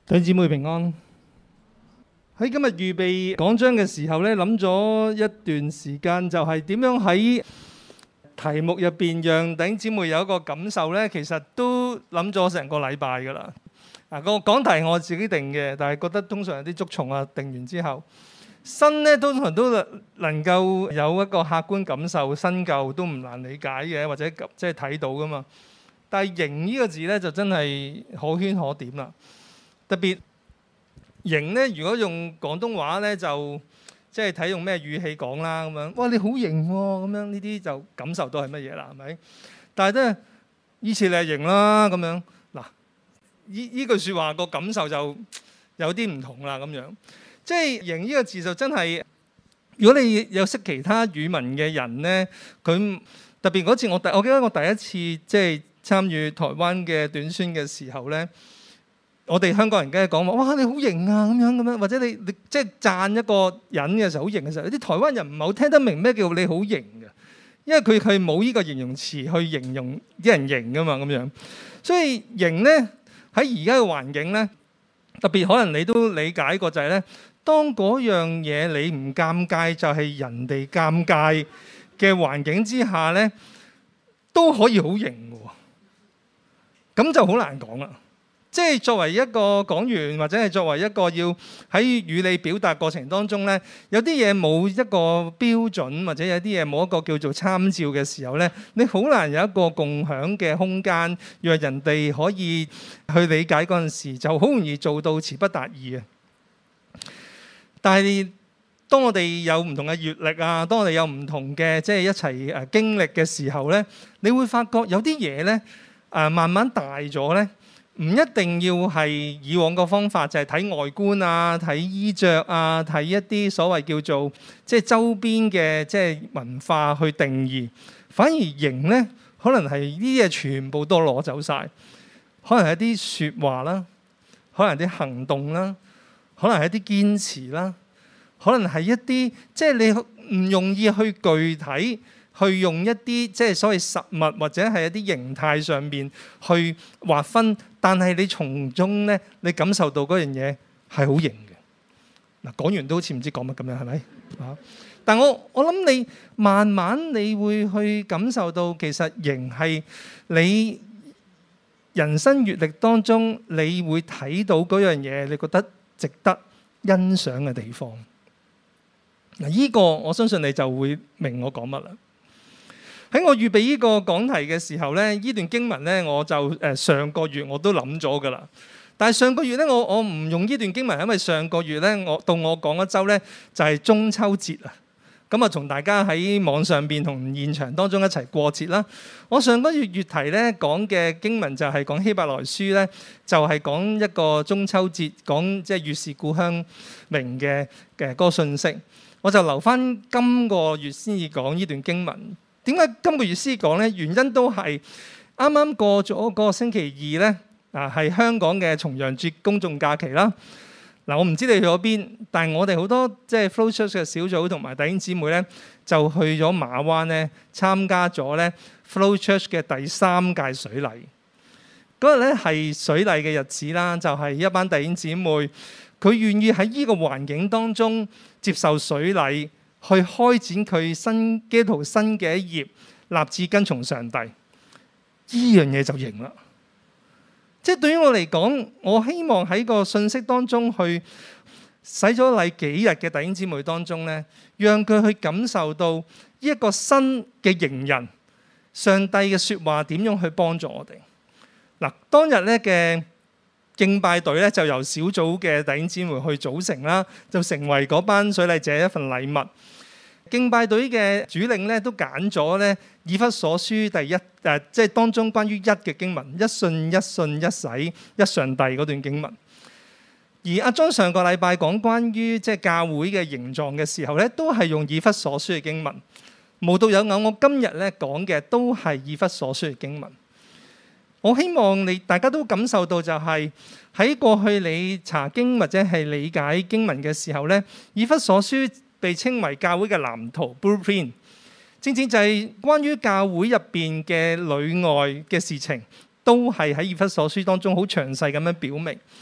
弟兄姊妹平安。喺今日預備講章嘅時候咧，諗咗一段時間，就係點樣喺題目入邊讓弟兄姊妹有一個感受咧。其實都諗咗成個禮拜噶啦。個講題我自己定嘅，但係覺得通常有啲捉蟲啊。定完之後，新咧通常都能夠有一個客觀感受，新舊都唔難理解嘅，或者即係睇到噶嘛。但係型呢個字咧就真係可圈可點啦。特別型咧，如果用廣東話咧，就即係睇用咩語氣講啦咁樣。哇，你好型喎！咁樣呢啲就感受到係乜嘢啦？係咪？但係咧，以前你係型啦咁樣。嗱，呢句説話個感受就有啲唔同啦咁樣。即係型呢個字就真係，如果你有識其他語文嘅人咧，佢特別嗰次我記得我第一次即係參與台灣嘅短宣嘅時候咧。我哋香港人梗係講話，哇！你好型啊，咁樣，或者你即係讚一個人嘅時候好型嘅時候，啲台灣人唔係好聽得明咩叫你好型嘅，因為佢冇呢個形容詞去形容啲人型噶嘛咁樣。所以型咧喺而家嘅環境咧，特別可能你都理解過就係咧，當嗰樣嘢你唔尷尬，就係人哋尷尬嘅環境之下咧，都可以好型嘅喎，咁就好難講啦。即係作為一個講員，或者係作為一個要喺語理表達過程當中咧，有啲嘢冇一個標準，或者有啲嘢冇一個叫做參照嘅時候咧，你好難有一個共享嘅空間，讓人哋可以去理解嗰陣時，就好容易做到詞不達意嘅。但係當我哋有唔同嘅閲歷啊，當我哋有唔同嘅即係一齊經歷嘅時候咧，你會發覺有啲嘢咧慢慢大咗咧。唔一定要係以往個方法，就係睇外觀啊、睇衣着啊、睇一啲所謂叫做即係周邊嘅即係文化去定義。反而型咧，可能係呢啲嘢全部都攞走晒，可能係一啲説話啦，可能係啲行動啦，可能係一啲堅持啦，可能係一啲即係你唔容易去具體。去用一啲即係所謂實物或者係一啲形態上面去劃分，但係你從中咧，你感受到嗰樣嘢係好型嘅。嗱，講完都好似唔知講乜咁樣，係咪？但我諗你慢慢你會去感受到，其實型係你人生閲歷當中，你會睇到嗰樣嘢，你覺得值得欣賞嘅地方。嗱，呢個我相信你就會明我講乜啦。喺我預備呢個講題嘅時候咧，呢段經文咧，我就上個月我都諗咗噶啦。但係上個月咧，我唔用呢段經文，因為上個月咧，我講一週咧就係中秋節啊。咁啊，同大家喺網上邊同現場當中一齊過節啦。我上個月月題咧講嘅經文就係講希伯來書咧，就係講一個中秋節，講即係月是故鄉明嘅嗰個信息。我就留翻今個月先至講呢段經文。點解今個月先講呢？原因都係啱啱過咗嗰個星期二呢，係香港嘅重陽節公眾假期啦。我唔知你去咗邊，但係我哋好多即係 Flow Church 嘅小組同埋弟兄姊妹呢，就去咗馬灣呢參加咗呢 Flow Church 嘅第3屆水禮。嗰日呢係水禮嘅日子啦，就係一班弟兄姊妹，佢願意喺呢個環境當中接受水禮。去開展佢新基督徒新嘅一頁，立志跟從上帝，呢樣嘢就型啦。即係對於我嚟講，我希望喺個信息當中去洗咗禮幾日嘅弟兄姊妹當中咧，讓佢去感受到呢一個新嘅型人，上帝嘅説話點樣去幫助我哋。嗱，當日咧嘅敬拜隊咧就由小組嘅弟兄姊妹去組成啦，就成為嗰班水禮者一份禮物。敬拜隊嘅主領咧都揀咗咧以弗所書第一即係當中關於一嘅經文，一信一信一洗一上帝嗰段經文。而阿莊上個禮拜講關於即係教會嘅形狀嘅時候咧，都係用以弗所書嘅經文。無獨有偶，我今日咧講嘅都係以弗所書嘅經文。我希望大家都感受到就係喺過去你查經或者係理解經文嘅時候咧，以弗所書被稱為教會嘅藍圖 Blueprint， 正正就係關於教會入邊嘅裏外嘅事情，都係喺以弗所書當中好詳細咁樣表明。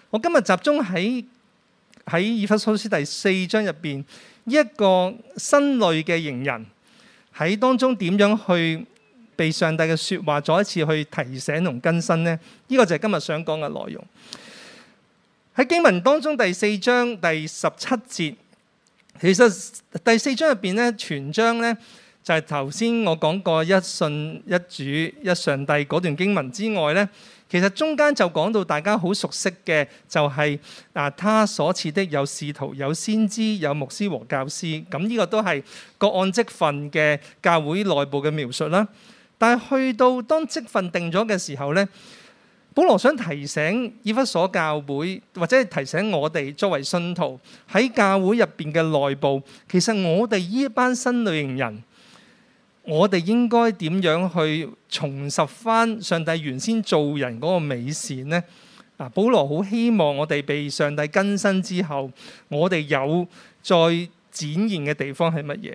我今日集中喺以弗所書第4章入邊，一個新類嘅型人喺當中點樣去被上帝嘅説話再一次去提醒同更新呢？呢個就係今日想講嘅內容。喺經文當中第4章第17節，其實第4章入邊咧，全章咧就係頭先我講過一信一主一上帝嗰段經文之外咧，其實中間就講到大家好熟悉嘅，就係他所賜的有使徒、有先知、有牧師和教師。咁呢個都係各按職分嘅教會內部嘅描述啦。但係去到當職分定咗嘅時候咧，保羅想提醒以弗所教會，或者係提醒我哋作為信徒喺教會入邊嘅內部，其實我哋呢一班新類型人，我哋應該點樣去重拾翻上帝原先做人嗰個美善呢？保羅好希望我哋被上帝更新之後，我哋有再展現嘅地方係乜嘢？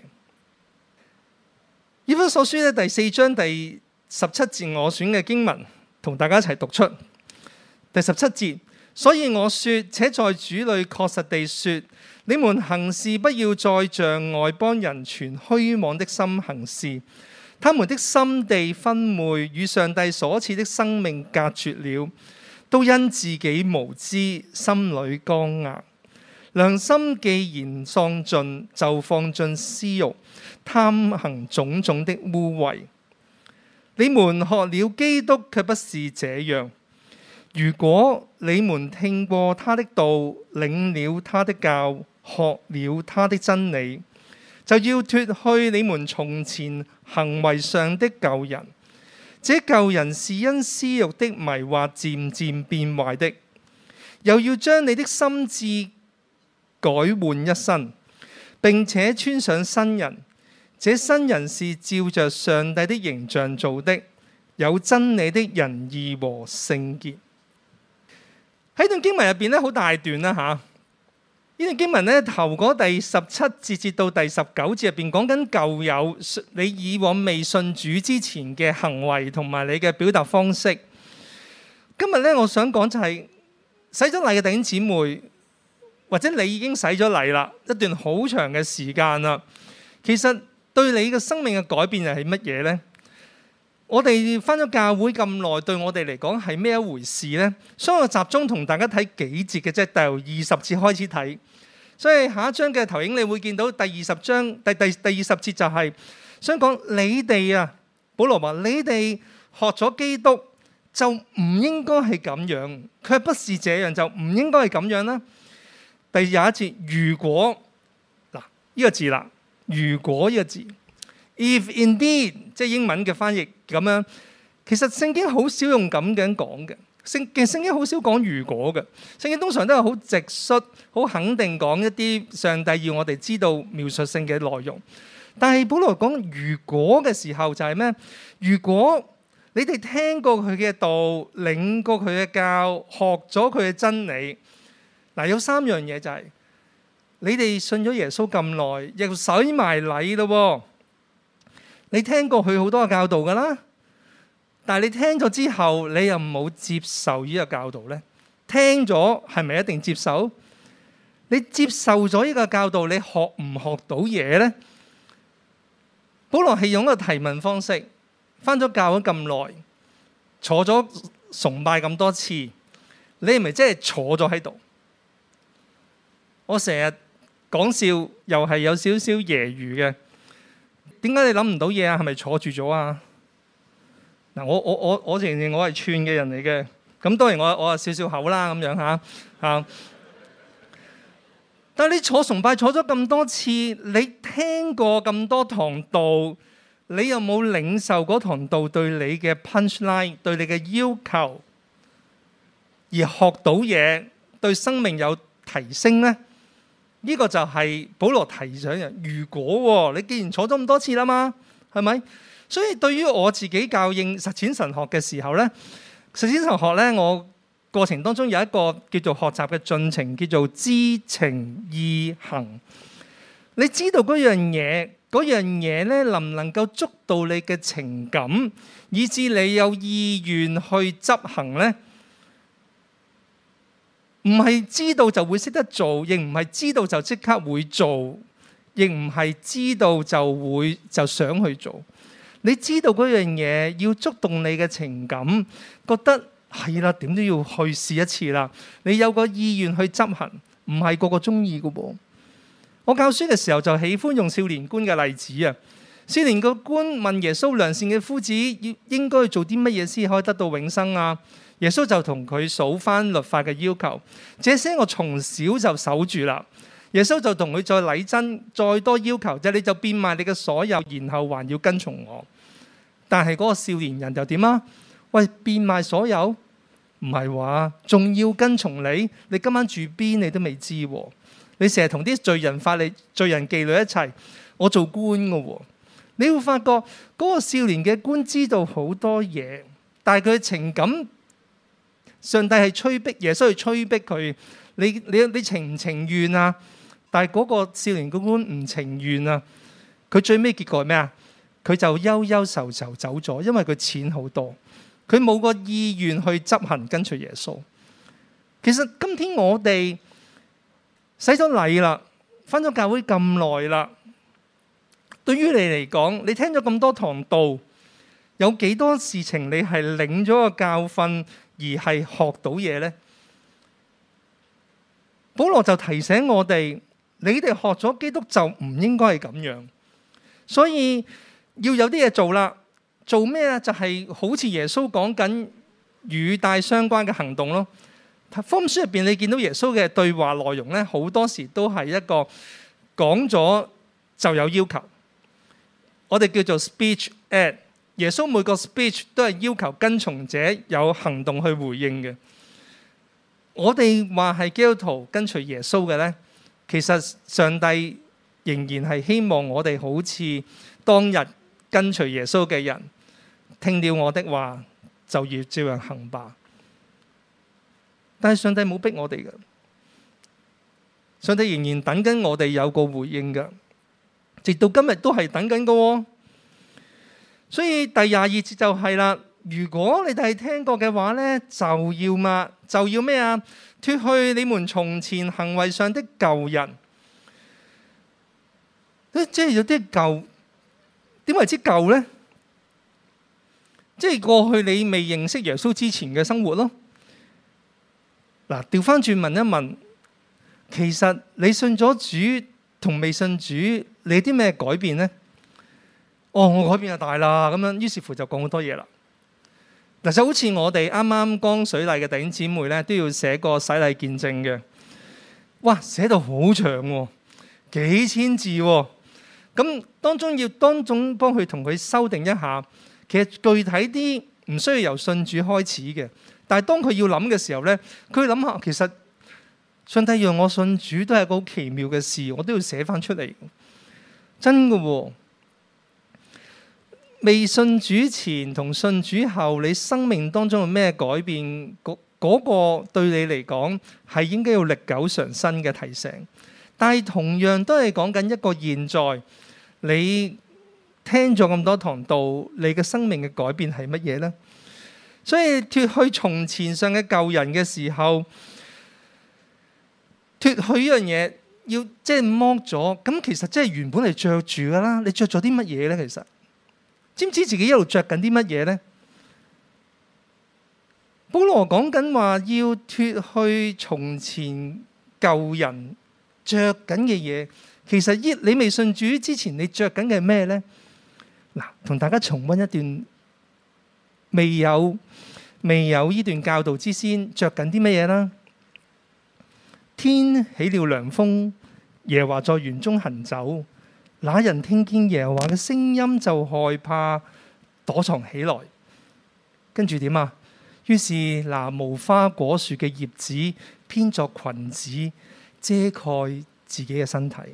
以弗所書咧第4章第17節，我選嘅經文同大家一齊讀出。第17節，所以我說，且在主裏確實地說，你們行事不要再像外邦人存虛妄的心行事，他們的心地昏昧，與上帝所賜的生命隔絕了，都因自己無知，心裏剛硬。良心既然喪盡，就放進私慾，貪行種種的污穢。你們學了基督，卻不是這樣。如果你們聽過他的道，領了他的教，學了他的真理，就要脫去你們從前行為上的舊人。這舊人是因私慾的迷惑漸漸變壞的，又要將你的心志改換一新，並且穿上新人。這新人是照着上帝的形象做的，有真理的仁義和聖潔。喺段經文入邊咧，好大段啦嚇。呢段經文咧，頭嗰第17節至到第19節入邊講緊舊有你以往未信主之前嘅行為同埋你嘅表達方式。今日咧，我想講就係洗咗禮嘅弟兄姊妹，或者你已經洗咗禮啦，一段好長嘅時間啦。其實對你嘅生命嘅改變又係乜嘢呢？我哋返咗教會咁耐，對我哋嚟講係咩一回事呢？所以我集中同大家睇幾節嘅啫，由20節開始睇。所以下一章嘅投影你會見到第20章第20節就係想講你哋啊，保羅話你哋學咗基督就唔應該係咁樣，卻不是這樣，就唔應該係咁樣啦。第21節，如果嗱呢個字啦。如果呢個字 ，if indeed， 即係英文嘅翻譯咁樣，其實聖經好少用咁樣講嘅。聖經好少講如果嘅，聖經通常都係好直率、好肯定講一啲上帝要我哋知道描述性嘅內容。但係保羅講如果嘅時候就係咩？如果你哋聽過佢嘅道，領過佢嘅教，學咗佢嘅真理，嗱有3樣嘢就係。你哋信咗耶穌咁耐，又洗埋禮咯。你聽過佢好多嘅教導噶啦，但係你聽咗之後，你又冇接受呢個教導呢？聽咗係咪一定接受？你接受咗呢個教導，你學唔學到嘢呢？保羅係用一個提問方式，返咗教會咁耐，坐咗崇拜咁多次，你係咪真係坐咗喺度？我成日講笑又係有少少揶揄嘅，點解你諗唔到嘢啊？係咪坐住咗啊？嗱，我承認我係串嘅人嚟嘅，咁當然我係少少口啦咁樣嚇。但係你坐崇拜坐咗咁多次，你聽過咁多堂道，你有冇領受嗰堂道對你嘅 punchline， 對你嘅要求，而學到嘢，對生命有提升呢？呢個就係保羅提醒人，如果你既然坐咗咁多次啦嘛，係咪？所以對於我自己教應實踐神學嘅時候呢，實踐神學呢，我過程當中有一個叫做學習嘅進程，叫做知情意行。你知道嗰樣嘢呢，能唔能夠捉到你嘅情感，以致你有意願去執行呢？ 唔係知道就會識得做，亦唔係知道就即刻會做，亦唔係知道就想去做。你知道嗰樣嘢要觸動你嘅情感，覺得係啦，點都要去試一次啦。你有個意願去執行，唔係個個中意㗎噃。我教書嘅時候就喜歡用少年官嘅例子啊。少年個官問耶穌：良善嘅夫子應該做啲乜嘢先可以得到永生啊？耶穌就同佢數翻律法嘅要求，這些我從小就守住啦。耶穌就同佢再禮真，再多要求，就你就變賣你嘅所有，然後還要跟從我。但係嗰個少年人就點啊？喂，變賣所有？唔係話仲要跟從你？你今晚住邊你都未知喎。你成日同啲罪人法利罪人妓女一齊，我做官嘅喎。你會發覺嗰個少年嘅官知道好多嘢，但係佢嘅情感，上帝係催逼耶穌去催逼佢。你情唔情願啊？但係嗰個少年嘅官唔情願啊。佢最尾結果係咩啊？佢就憂憂愁愁走咗，因為佢錢好多，佢冇個意願去執行跟隨耶穌。其實今天我哋洗咗禮啦，返咗教會咁耐啦，對於你嚟講，你聽咗咁多堂道，有幾多事情你係領咗個教訓而係學到嘢呢？保羅就提醒我哋，你哋學咗基督就唔應該係咁樣，所以要有啲嘢做啦。做咩啊？就係好似耶穌講緊與帶相關嘅行動咯。福音書入邊你見到耶穌嘅對話內容咧，好多時都係一個講咗就有要求，我哋叫做 speech ad。耶穌每個 speech 都係要求跟從者有行動去回應嘅。我哋話係基督徒跟隨耶穌嘅咧，其實上帝仍然係希望我哋好似當日跟隨耶穌嘅人，聽了我的話就要照樣行吧。但係上帝冇逼我哋嘅，上帝仍然等緊我哋有個回應嘅，直到今日都係等緊嘅喎。所以第22節就係啦，如果你哋係聽過嘅話咧，就要咩啊？脫去你們從前行為上的舊人。即係有啲舊，點為之舊咧？即係過去你未認識耶穌之前嘅生活咯。嗱，調翻轉問一問，其實你信咗主同未信主，你有啲咩改變呢？我改變就大啦，咁樣於是乎就講好多嘢啦。嗱，就好似我哋啱啱剛水禮嘅弟兄姊妹咧，都要寫個洗禮見證嘅。哇，寫到好長喎，幾千字喎。咁當中要幫佢同佢修訂一下。其實具體啲唔需要由信主開始嘅。但係當佢要諗嘅時候咧，佢諗下其實上帝讓我信主都係個好奇妙嘅事，我都要寫翻出嚟。真嘅喎，未信主前同信主後，你生命當中有咩改變？嗰個對你嚟講係應該要歷久常新嘅提醒。但係同樣都係講緊一個現在，你聽咗咁多堂道，你嘅生命嘅改變係乜嘢呢？所以脫去從前上嘅舊人嘅時候，脫去呢樣嘢要即係剝咗，咁其實即係原本係着住噶啦。你着咗啲乜嘢咧？其實知唔知自己一路着緊啲乜嘢咧？保羅講緊話要脫去從前舊人着緊嘅嘢，其實你未信主之前，你着緊嘅係咩咧？嗱，同大家重溫一段未有呢段教導之先，着緊啲乜嘢啦？天起了涼風，耶和華在園中行走，那人聽見耶和華嘅聲音就害怕，躲藏起來。跟住點啊？於是拿無花果樹嘅葉子編作裙子，遮蓋自己嘅身體。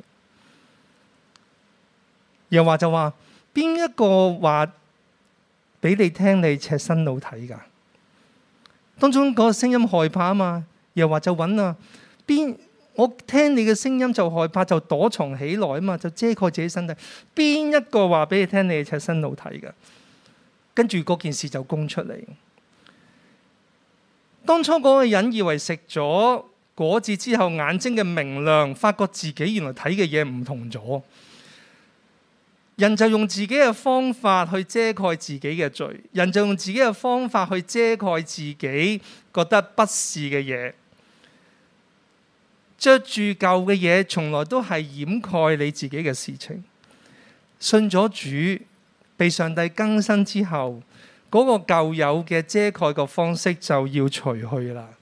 耶和華就話：邊一個話俾你聽你赤身露體噶？當中嗰個聲音害怕啊嘛，又話就揾啊，我聽你嘅聲音就害怕，就躲藏起來啊嘛，就遮蓋自己身體。邊一個話俾你聽你赤身露體噶？跟住嗰件事就供出嚟。當初嗰個人以為食咗果子之後，眼睛嘅明亮，發覺自己原來睇嘅嘢唔同咗。人就用自己嘅方法去遮蓋自己嘅罪，人就用自己嘅方法去遮蓋自己覺得不是嘅嘢，着住舊嘅嘢，從來都係掩蓋你自己嘅事情。信咗主，被上帝更新之後，嗰個舊有嘅遮蓋嘅方式就要除去啦。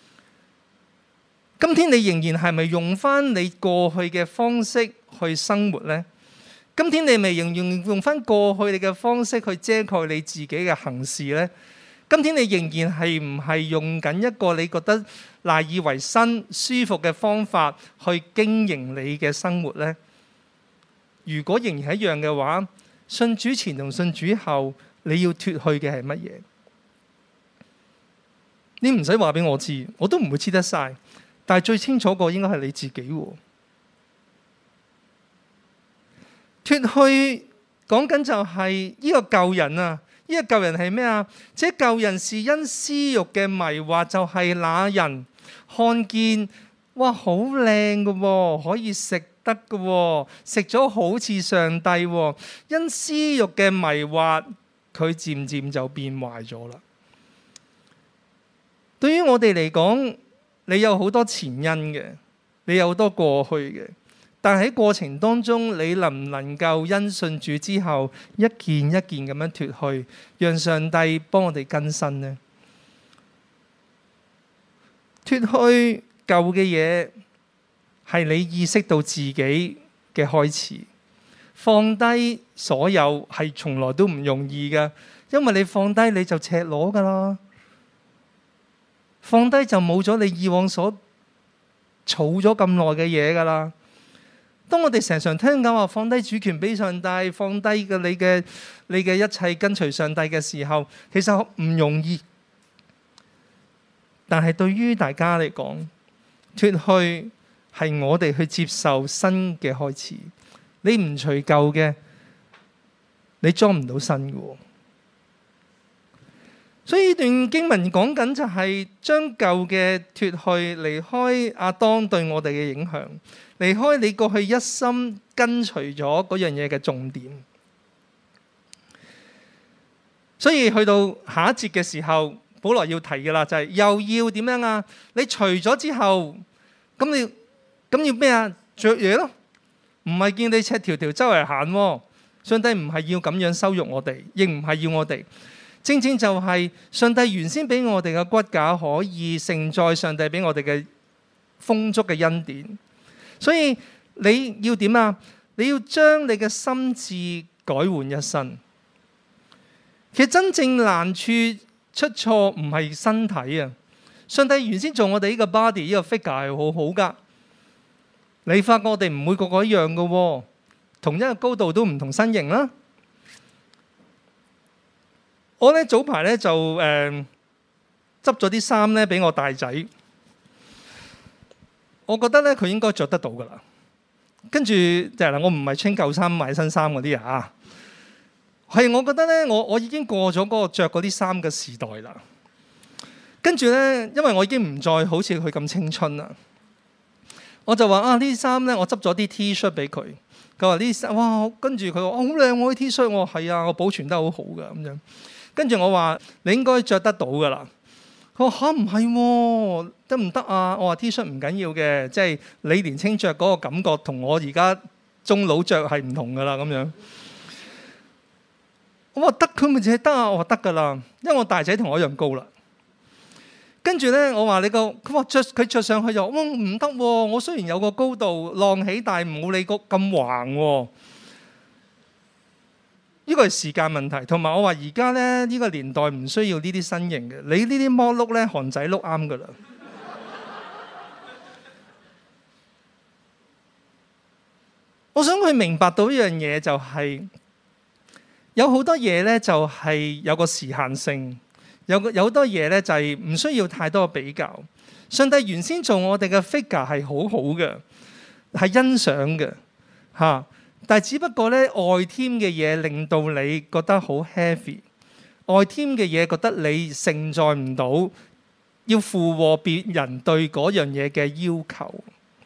今天你仍然係咪用翻你過去嘅方式去生活呢？今天你咪仍然用翻過去你嘅方式去遮蓋你自己嘅行事呢？今天你仍然係唔係用緊一個你覺得賴以為生、舒服嘅方法去經營你嘅生活呢？如果仍然係一樣嘅話，信主前同信主後，你要脫去嘅係乜嘢？你唔使話俾我知，我都唔會知得晒。但係最清楚個應該係你自己喎。脫去講緊就係呢個舊人啊！呢個舊人係咩啊？這舊人是因私慾嘅迷惑，就係那人看見哇好靚嘅喎，可以食得嘅喎，食咗好似上帝喎。因私慾嘅迷惑，佢漸漸就變壞咗啦。對於我哋嚟講，你有好多前因嘅，你有好多過去嘅。但喺過程當中，你能唔能夠因信主之後一件一件咁樣脫去，讓上帝幫我哋更新呢？脫去舊嘅嘢係你意識到自己嘅開始，放低所有係從來都唔容易嘅，因為你放低你就赤裸噶啦，放低就冇咗你以往所儲咗咁耐嘅嘢噶啦。當我哋常常聽講話放低主權俾上帝，放低嘅你嘅一切跟隨上帝嘅時候，其實唔容易。但係對於大家嚟講，脫去係我哋去接受新嘅開始。你唔除舊嘅，你裝唔到新嘅。所以呢段經文講緊就係將舊嘅脫去，離開亞當對我哋嘅影響。離開你過去一心跟隨咗嗰樣嘢嘅重點，所以去到下一節嘅時候，保羅要提嘅啦，就係又要點樣啊？你除咗之後，咁要咩啊？着嘢咯，唔係見你赤條條周圍行喎。上帝唔係要咁樣羞辱我哋，亦唔係要我哋。正正就係上帝原先俾我哋嘅骨架可以承載上帝俾我哋嘅豐足嘅恩典。所以你要點啊？你要將你嘅心志改換一新。其實真正難處出錯唔係身體啊！上帝原先做我哋呢個 body 呢個 figure 係好好噶。你發覺我哋唔會個個一樣噶喎，同一個高度都唔同身形啦。我咧早排咧就執咗啲衫咧俾我大仔。我覺得咧佢應該着得到噶啦，跟住就係啦，我唔係穿舊衫買新衫嗰啲啊，係我覺得咧，我已經過咗嗰個着嗰啲衫嘅時代啦。跟住咧，因為我已經唔再好似佢咁青春啦，我就話啊，呢啲衫咧，我執咗啲 T 恤俾佢。佢話呢啲衫哇，跟住佢話好靚喎，啲 T 恤。我話係啊，我保存得好好噶咁樣。跟住我話你應該着得到噶啦。佢話嚇唔係喎，得唔得啊？我話 T 恤唔緊要嘅，即係你年青着嗰個感覺同我而家中老着係唔同噶啦咁樣。我話得，佢咪就係得啊！我話得噶啦，因為我大仔同我一樣高啦。跟住咧，我話你佢話佢着上去就唔得喎。我雖然有個高度浪起，但係冇你咁橫喎。呢個係時間問題，同埋我話而家咧呢個年代唔需要呢啲身形嘅，你呢啲摩碌咧韓仔碌啱噶啦。我想佢明白到一樣嘢，就係有好多嘢咧就係有個時限性，有好多嘢咧就係唔需要太多比較。上帝原先做我哋嘅 figure 係好好嘅，係欣賞嘅嚇。但係只不過咧，外添嘅嘢令到你覺得好 heavy，外添嘅嘢覺得你承載唔到要附和別人對嗰樣嘢嘅要求。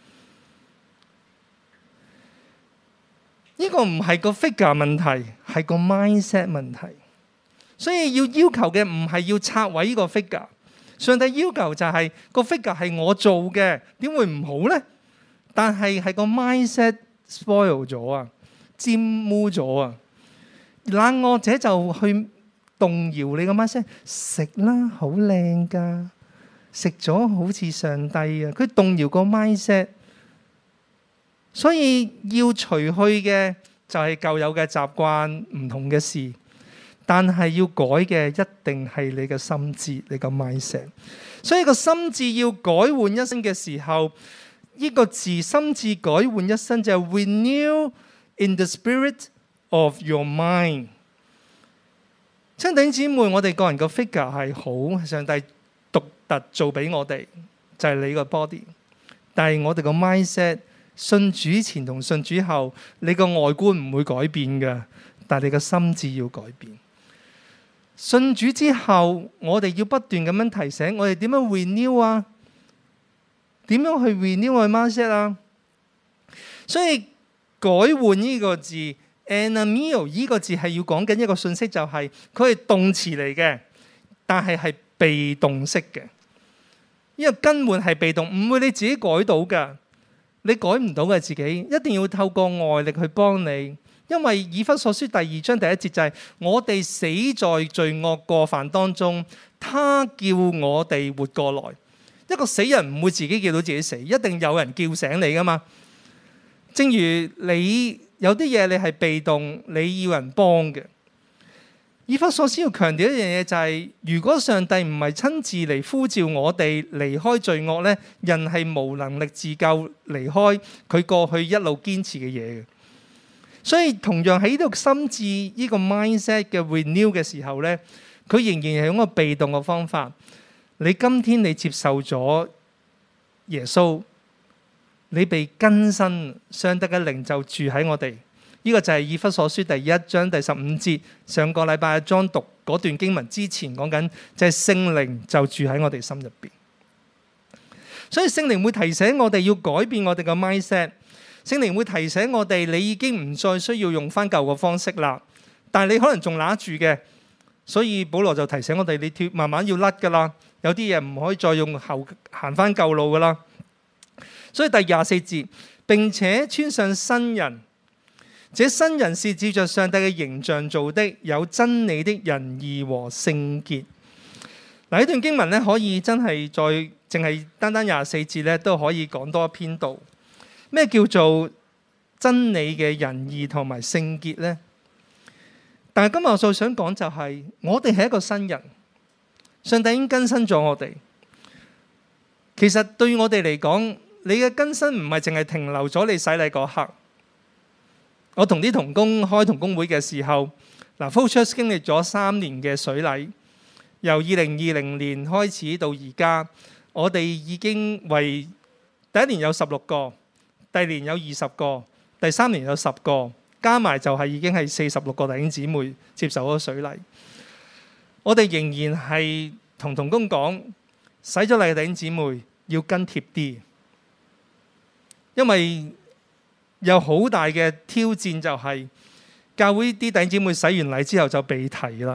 呢個唔係個 figure 問題，係個 mindset 問題。所以要求嘅唔係要拆毀呢個 figure。上帝要求就係個 figure 係我做嘅，點會唔好呢？但係個 mindset spoil 咗啊，沾污咗啊。懶惰者就去動搖你個 mindset， 食啦，好靚㗎，食咗好似上帝啊。佢動搖個 mindset。所以要除去嘅就係舊有嘅習慣，唔同嘅事，但係要改嘅一定係你嘅心智，你個 mindset。所以個心智要改換一生嘅時候，呢個字心智改換一生就係 renew in the spirit of your mind。親弟兄姊妹，我哋個人個 figure 係好，上帝獨特做俾我哋，就係你個 body。但係我哋個 mindset。信主前同信主後，你個外觀唔會改變嘅，但係你個心智要改變。信主之後，我哋要不斷咁樣提醒我哋點樣 renew 啊？點樣去 renew 我 mindset 啊？所以改換呢個字 anamio 呢個字係要講緊一個信息，就係佢係動詞嚟嘅，但係係被動式嘅。因為更換係被動，唔會你自己改到㗎。你改唔到嘅自己，一定要透過外力去幫你。因為以弗所書第2章第1節就係我哋死在罪惡過犯當中，他叫我哋活過來。一個死人唔會自己叫到自己死，一定有人叫醒你噶嘛。正如你有啲嘢你係被動，你要人幫嘅。以弗所書要強調一樣嘢就係，如果上帝唔係親自嚟呼召我哋離開罪惡呢，人係無能力自救離開佢過去一路堅持嘅嘢嘅。所以同樣喺呢度心智呢個 mindset 嘅 renew 嘅時候呢，佢仍然係用一個被動嘅方法。你今天你接受咗耶穌，你被更新，上帝嘅靈就住喺我哋。呢個就係以弗所書第1章第15節，上個禮拜阿莊讀嗰段經文之前講緊，就係聖靈就住喺我哋心入邊。所以聖靈會提醒我哋要改變我哋嘅 mindset， 聖靈會提醒我哋你已經唔再需要用翻舊嘅方式啦，但係你可能仲揦住嘅，所以保羅就提醒我哋你慢慢要甩噶啦，有啲嘢唔可以再用後行翻舊路噶啦。所以第24節，並且穿上新人。這新人是照着上帝嘅形象做的，有真理的仁義和聖潔。嗱，呢段經文咧，可以真係再淨係單單24節咧，都可以講多一篇道。咩叫做真理嘅仁義同埋聖潔呢？但係今日我就想講就係，我哋係一個新人，上帝已經更新咗我哋。其實對於我哋嚟講，你嘅更新唔係淨係停留咗你洗禮嗰刻。我同啲同工開同工會嘅時候，Flow Church 經歷咗3年嘅水禮，由2020年開始到而家，我哋已經為第一年有16個，第二年有20個，第3年有10個，加埋就係已經係46個弟兄姊妹接受咗水禮。我哋仍然係同同工講，洗咗禮嘅弟兄姊妹要跟貼啲，因為有好大嘅挑戰，就係教會啲弟兄姊妹洗完禮之後就被提啦。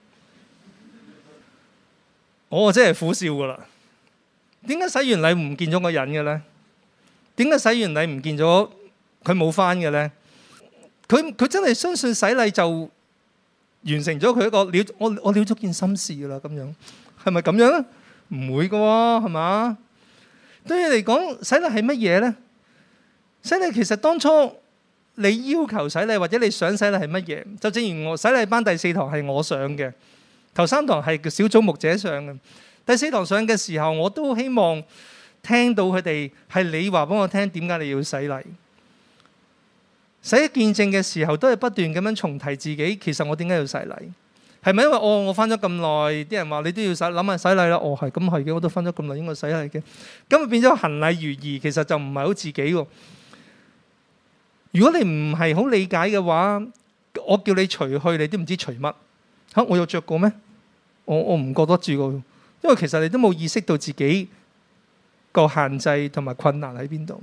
我真係苦笑噶啦。點解洗完禮唔見咗個人嘅咧？點解洗完禮唔見咗佢冇返嘅咧？佢真係相信洗禮就完成咗佢一個了，我了咗件心事噶啦，咁樣係咪咁樣咧？唔會噶喎，係嘛？對你嚟講，洗禮係乜嘢咧？洗禮其實當初你要求洗禮或者你想洗禮係乜嘢？就正如我洗禮班第4堂係我上嘅，頭3堂係小組牧者上嘅，第4堂上嘅時候我都希望聽到佢哋係你話俾我聽點解你要洗禮。洗見證嘅時候都係不斷咁樣重提自己，其實我點解要洗禮？係咪因為我返咗咁耐，啲人話你都要諗下洗禮啦？係咁係嘅，我都返咗咁耐應該洗禮嘅，咁就變咗行禮如儀，其實就唔係好自己喎。如果你唔係好理解嘅話，我叫你除去，你都唔知除乜嚇。我有着過咩？我唔覺得住過，因因為其實你都冇意識到自己個限制同埋困難喺邊度。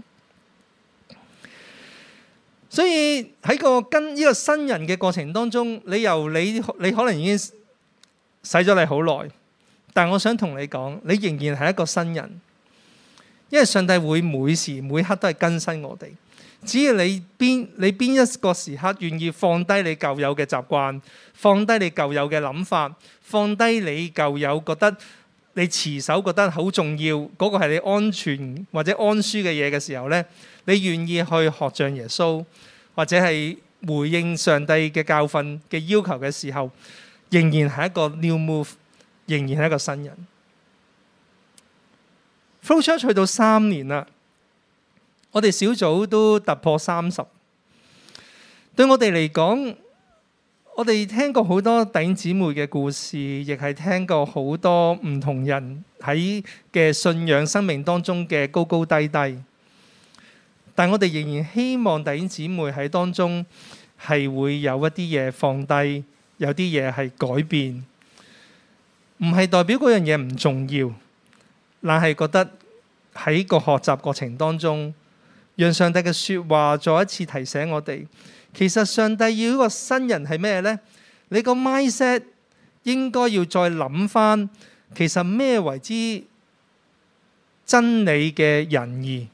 所以喺個跟呢個新人嘅過程當中，你可能已經使咗你好耐，但我想同你講，你仍然係一個新人，因為上帝會每時每刻都係更新我哋。只要你邊一個時刻願意放低你舊有嘅習慣，放低你舊有嘅諗法，放低你舊有覺得你持守覺得好重要嗰個係你安全或者安舒嘅嘢嘅時候呢，你願意去學像耶穌，或者係回應上帝嘅教訓嘅要求嘅時候，仍然係一個 new move， 仍然係一個新人。Flow Church 去到3年啦，我哋小組都突破30。對我哋嚟講，我哋聽過好多弟兄姊妹嘅故事，亦係聽過好多唔同人喺嘅信仰生命當中嘅高高低低。但我哋仍然希望弟兄姊妹喺當中係會有一啲嘢放低，有啲嘢係改變，唔係代表嗰樣嘢唔重要，但係覺得喺個學習過程當中，讓上帝嘅說話再一次提醒我哋，其實上帝要一個新人係咩呢？你個 mindset 應該要再諗翻，其實咩為之真理嘅仁義？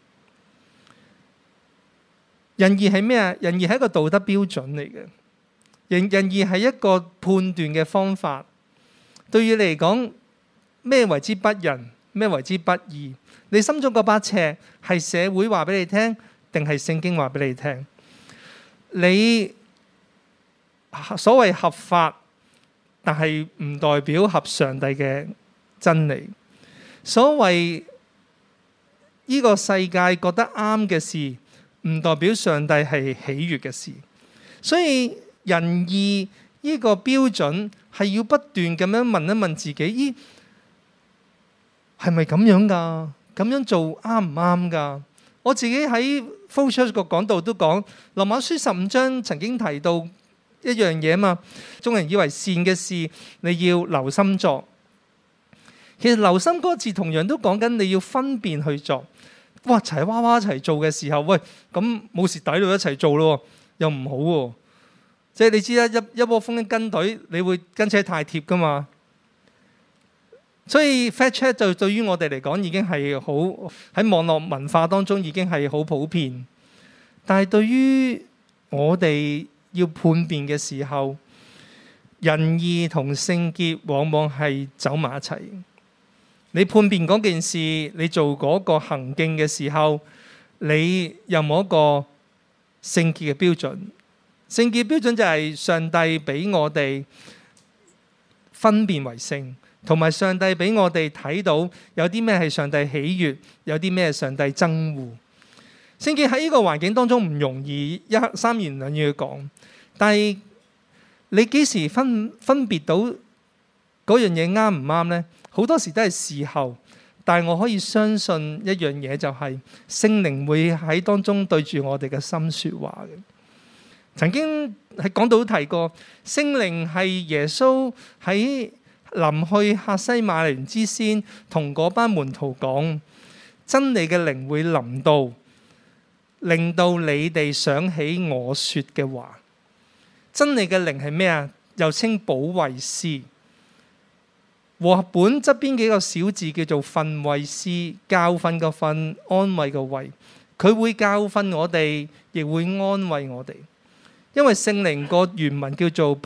仁義係咩啊？仁義係一個道德標準嚟嘅，仁義係一個判斷嘅方法。對於你嚟講，咩為之不仁？咩為之不義？你心中嗰把尺係社會話俾你聽，定係聖經話俾你聽？你所謂合法，但係唔代表合上帝嘅真理。所謂呢個世界覺得啱嘅事，唔代表上帝係喜悅嘅事。所以仁義呢個標準係要不斷咁樣問一問自己：咦，係咪咁樣㗎？咁樣做啱唔啱㗎？我自己喺 Flow Church 個講道都講，羅馬書15章曾經提到一樣嘢嘛。眾人以為善嘅事，你要留心作。其實留心嗰個字同樣都講緊你要分辨去做。哇！齊娃娃一齊做嘅時候，喂，咁冇蝕底到一齊做咯，又唔好喎。即係你知啦，一窩蜂跟隊，你會跟車太貼㗎嘛。所以 fact check 就對於我哋嚟講已經係好喺網絡文化當中已經係好普遍。但係對於我哋要判別嘅時候，仁義同聖潔往往係走埋一齊。你判別嗰件事，你做嗰個行徑嘅時候，你有冇一個聖潔嘅標準？聖潔標準就係上帝俾我哋分辨為聖，同埋上帝俾我哋睇到有啲咩係上帝喜悅，有啲咩係上帝憎惡。聖潔喺呢個環境當中唔容易三言兩語去講，但係你幾時分別到嗰樣嘢啱唔啱呢？好多時都係事後，但係我可以相信一樣嘢，就係聖靈會喺當中對住我哋嘅心說話嘅。曾經喺講道提過，聖靈係耶穌喺臨去客西馬尼園之先，同嗰班門徒講，真理嘅靈會臨到，令到你哋想起我說嘅話。真理嘅靈係咩啊？又稱保惠師。和合本側邊幾個小字叫做訓慰師，教訓個訓，安慰個慰。佢會教訓我哋，亦會安慰我哋。因為聖靈個原文叫做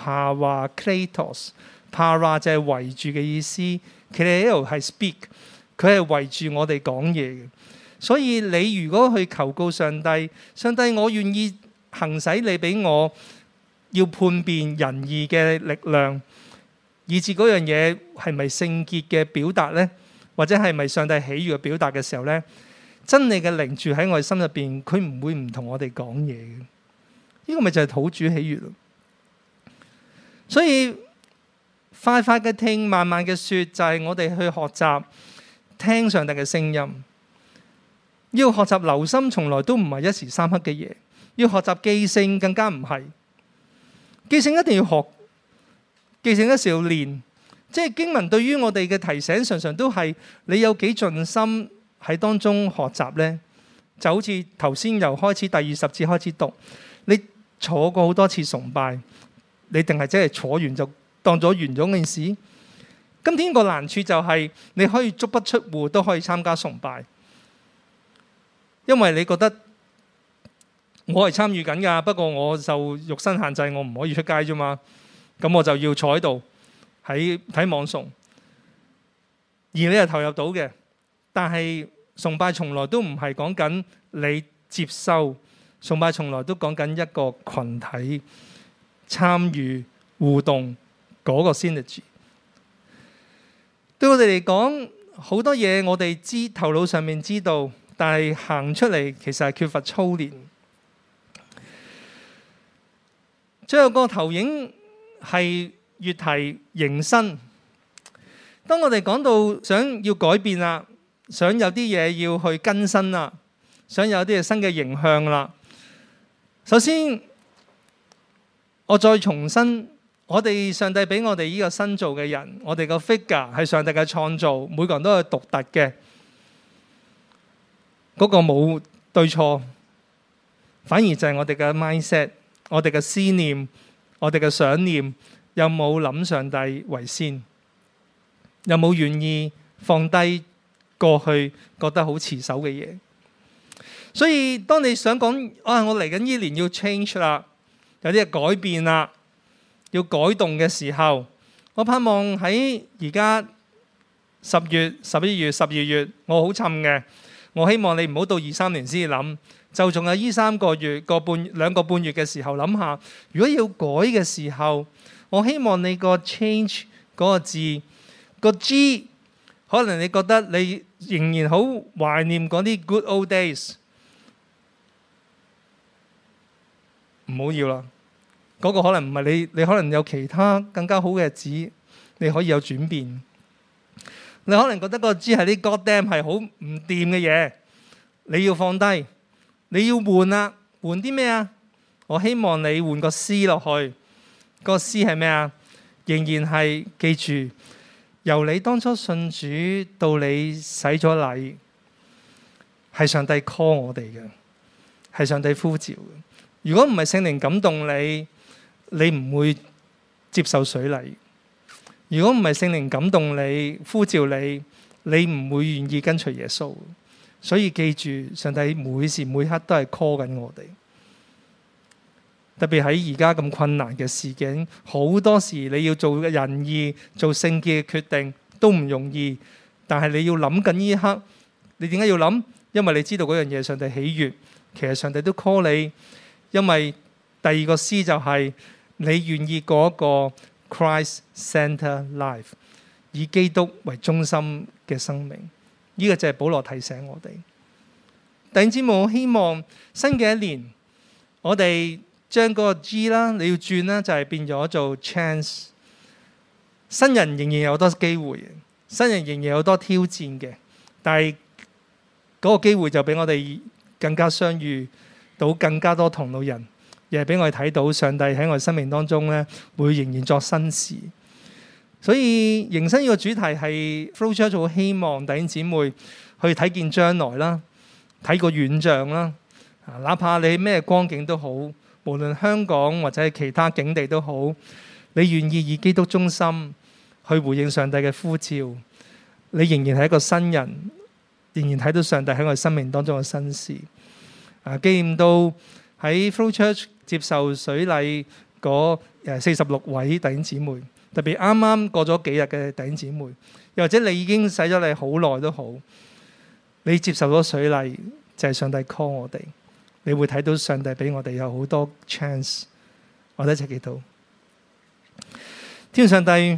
Parakletos，Para 就係圍住嘅意思 ，Kleo 係 speak， 佢係圍住我哋講嘢嘅。所以你如果去求告上帝，上帝我願意行使你俾我要判別仁義嘅力量，以至嗰樣嘢係咪聖潔嘅表達呢？或者係咪上帝喜悅嘅表達嘅時候呢？真理嘅靈住喺我哋心入邊，佢唔會唔同我哋講嘢嘅。呢個咪就係討主喜悅咯。所以快快嘅聽，慢慢嘅說，就係我哋去學習聽上帝嘅聲音。要學習留心，從來都唔係一時三刻嘅嘢。要學習記性，更加唔係。記性一定要學，記性一時要練。 即係經文對於我哋嘅提醒，常常都係你有幾盡心喺當中學習呢？就好似頭先由開始第20節開始讀，你坐過好多次崇拜，你定係真係坐完就當咗完咗件事？今天個難處就係你可以足不出戶都可以參加崇拜，因為你覺得我係參與緊㗎，不過我受肉身限制，我唔可以出街啫嘛。咁我就要坐喺度喺睇網崇，而你係投入到嘅。但係崇拜從來都唔係講緊你接收，崇拜從來都講緊一個群體參與互動嗰個 synergy。對我哋嚟講，好多嘢我哋知頭腦上面知道，但係行出嚟其實係缺乏操練。最後個投影係月題迎新。當我哋講到想要改變啦，想有啲嘢要去更新啦，想有啲嘢新嘅形象啦。首先，我再重申。我哋上帝俾我哋呢個新造嘅人，我哋個 figure 係上帝嘅創造，每個人都係獨特嘅，嗰個冇對錯，反而就係我哋嘅 mindset， 我哋嘅思念，我哋嘅想念，有冇諗上帝為先？有冇願意放低過去覺得好持守嘅嘢？所以當你想講我嚟緊呢年要 change 啦，有啲嘢改變啦，要改動嘅時候，我盼望喺而家10月、11月、12月，我好沉嘅。我希望你唔好到23年先諗，就仲有呢3個月、2個半月嘅時候諗下，如果要改嘅時候，我希望你個 change 嗰個字個 G， 可能你覺得你仍然好懷念嗰啲 good old days， 唔好要啦。嗰個可能唔係你，你可能有其他更加好嘅日子，你可以有轉變。你可能覺得個 G 係啲 God damn 係好唔掂嘅嘢，你要放低，你要換啦，換啲咩啊？我希望你換個 C 落去，個 C 係咩啊？仍然係記住，由你當初信主到你洗咗禮，係上帝 call 我哋嘅，係上帝呼召嘅。如果唔係聖靈感動你，你唔會接受水禮。如果唔係聖靈感動你、呼召你，你唔會願意跟隨耶穌。所以記住，上帝每時每刻都係 call 緊我哋。特別喺而家咁困難嘅事境，好多時你要做仁義、做聖潔嘅決定都唔容易。但係你要諗緊呢一刻，你點解要諗？因為你知道嗰樣嘢上帝喜悅，其實上帝都 call 你。因為第二個 C 就係你願意過一個 Christ-centered life， 以基督為中心嘅生命。呢個就係保羅提醒我哋。弟兄姊妹，我希望新嘅一年，我哋將嗰個 G 啦，你要轉啦，就係變咗做 chance。新人仍然有好多機會，新人仍然有好多挑戰嘅，但係嗰個機會就俾我哋更加相遇到更加多同路人，亦係俾我哋睇到上帝喺我哋生命當中咧，會仍然作新事。所以迎新呢個主題係 Flow Church 好希望弟兄姊妹去睇見將來啦，睇個遠象啦。哪怕你咩光景都好，無論香港或者係其他境地都好，你願意以基督中心去回應上帝嘅呼召，你仍然係一個新人，仍然睇到上帝喺我哋生命當中嘅新事。紀念到喺 Flow Church 接受水禮嗰46位弟兄姊妹，特別啱啱過咗幾日嘅弟兄姊妹，又或者你已經洗咗禮好耐都好，你接受咗水禮就係上帝 call 我哋，你會睇到上帝俾我哋有好多 chance。我哋一齊祈禱。天上帝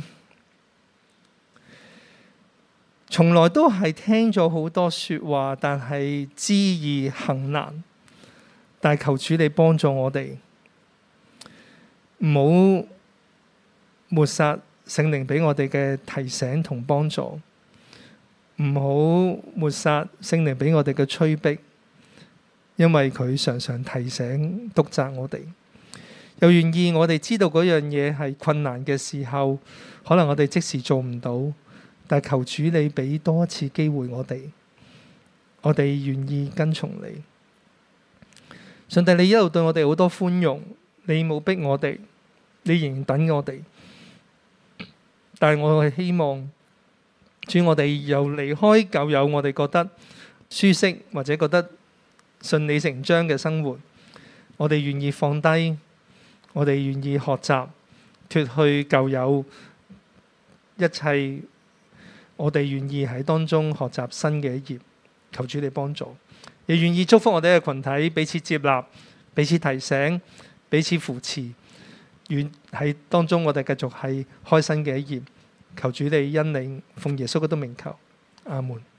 從來都係聽咗好多說話，但係知易行難。但係求主你幫助我哋，唔好抹殺聖靈俾我哋嘅提醒同幫助，唔好抹殺聖靈俾我哋嘅催逼，因為佢常常提醒督責我哋。 又願意我哋知道嗰樣嘢係困難嘅時候，可能我哋即時做唔到，但係求主你俾多一次機會我哋願意跟從你。上帝，你一路對我哋好多寬容，你冇逼我哋，你仍然等我哋。但係我係希望，主，我哋又離開舊有我哋覺得舒適或者覺得順理成章嘅生活，我哋願意放低，我哋願意學習脫去舊有一切，我哋願意喺當中學習新嘅一頁。求主你幫助，亦願意祝福我哋嘅群體，彼此接納，彼此提醒，彼此扶持。願喺當中我哋繼續係開新嘅一頁。求主你恩領，奉耶穌基督名求，阿門。